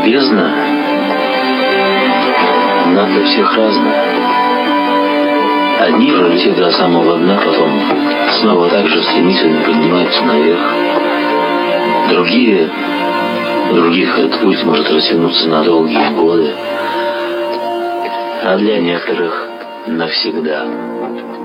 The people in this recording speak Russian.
бездна, она для всех разная. Одни пролетев до самого дна, потом снова так же стремительно поднимаются наверх. Других этот путь может растянуться на долгие годы, а для некоторых навсегда.